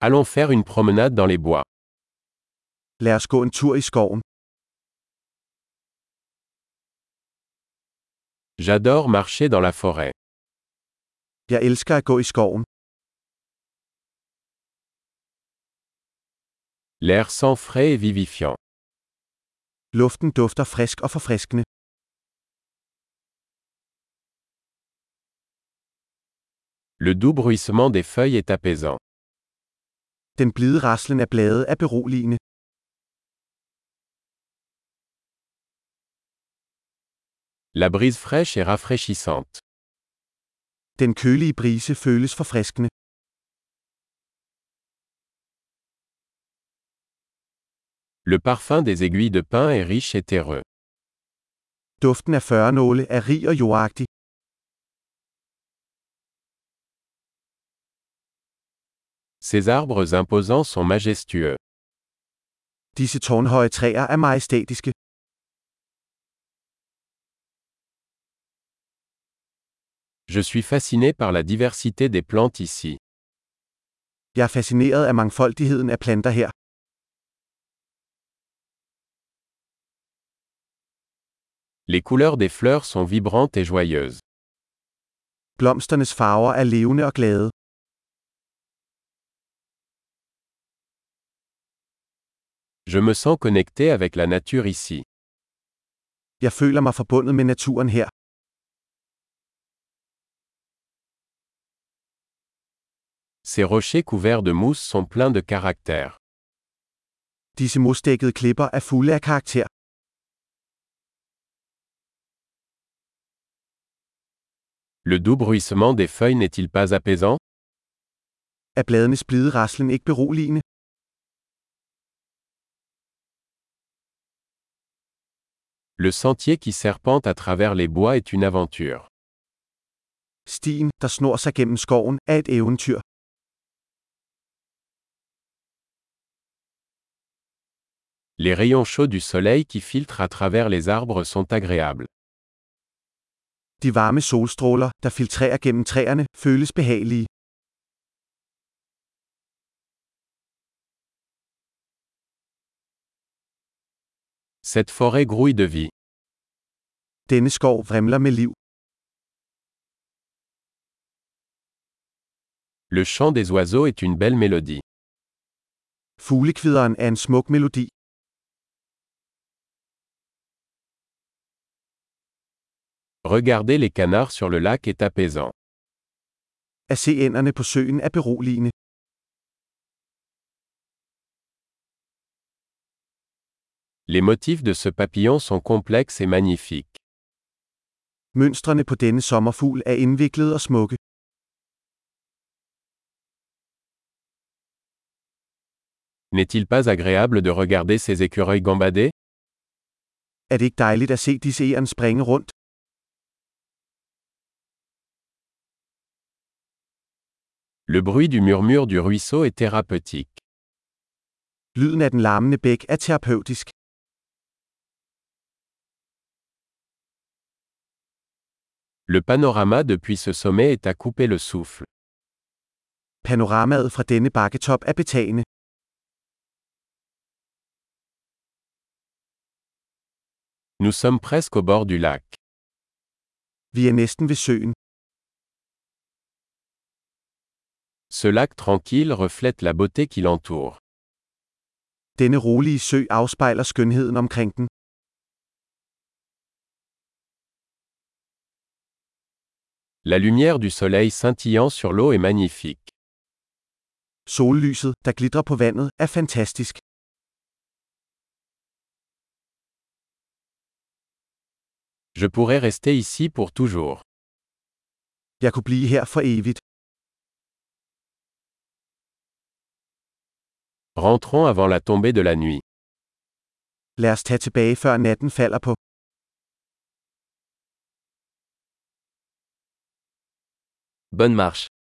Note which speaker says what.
Speaker 1: Allons faire une promenade dans les bois.
Speaker 2: Lad os gå en tur i skoven.
Speaker 1: J'adore marcher dans la forêt.
Speaker 2: Jeg elsker at gå i skoven.
Speaker 1: L'air sent frais et vivifiant.
Speaker 2: Luften dufter frisk og forfriskende.
Speaker 1: Le doux bruissement des feuilles est apaisant.
Speaker 2: Den blide raslen af blade er beroligende.
Speaker 1: La brise fraîche est rafraîchissante.
Speaker 2: Den kølige brise føles forfriskende.
Speaker 1: Le parfum des aiguilles de pin est riche et terreux.
Speaker 2: Duften af førnåle er rig og jordagtig.
Speaker 1: Ces arbres imposants sont majestueux.
Speaker 2: Disse tårnhøje træer er majestætiske.
Speaker 1: Je suis fasciné par la diversité des plantes ici.
Speaker 2: Jeg er fascineret af mangfoldigheden af planter her.
Speaker 1: Les couleurs des fleurs sont vibrantes et joyeuses.
Speaker 2: Blomsternes farver er levende og glade.
Speaker 1: Je me sens connecté avec la nature ici.
Speaker 2: Jeg føler mig forbundet med naturen her.
Speaker 1: Ces rochers couverts de mousse sont pleins de caractère.
Speaker 2: Disse mosdækkede klipper er fulde af karakter.
Speaker 1: Le doux bruissement des feuilles n'est-il pas apaisant?
Speaker 2: Er bladenes blide raslen ikke beroligende?
Speaker 1: Le sentier qui serpente à travers les bois est une aventure.
Speaker 2: Stien, der snor sig gennem skoven, er et eventyr.
Speaker 1: Les rayons chauds du soleil qui filtrent à travers les arbres sont agréables.
Speaker 2: De varme solstråler, der filtrerer gennem træerne, føles behagelige.
Speaker 1: Cette forêt grouille de vie.
Speaker 2: Denne skov vrimler med liv.
Speaker 1: Le chant des oiseaux est une belle mélodie.
Speaker 2: Fuglekvideren er en smuk melodi.
Speaker 1: Regarder les canards sur le lac est apaisant.
Speaker 2: At se ænderne på søen er beroligende.
Speaker 1: Les motifs de ce papillon sont complexes et magnifiques.
Speaker 2: Mønstrene på denne sommerfugl er indviklede og smukke.
Speaker 1: N'est-il pas agréable de regarder ces écureuils gambader?
Speaker 2: Er det ikke dejligt at se disse egern springe rundt?
Speaker 1: Le bruit du murmure du ruisseau est thérapeutique.
Speaker 2: Lyden af den larmende bæk er terapeutisk.
Speaker 1: Le panorama depuis ce sommet est à couper le souffle.
Speaker 2: Panoramaet fra denne bakketop er betagende.
Speaker 1: Nous sommes presque au bord du lac.
Speaker 2: Vi er næsten ved søen.
Speaker 1: Ce lac tranquille reflète la beauté qui l'entoure.
Speaker 2: Denne rolige sø afspejler skønheden omkring den.
Speaker 1: La lumière du soleil scintillant sur l'eau est magnifique.
Speaker 2: Sollyset, der glitrer på vandet, er fantastisk.
Speaker 1: Je pourrais rester ici pour toujours.
Speaker 2: Jeg kunne blive her for evigt.
Speaker 1: Rentrons avant la tombée de la nuit.
Speaker 2: Lad os tage tilbage før natten falder på.
Speaker 1: Bonne marche.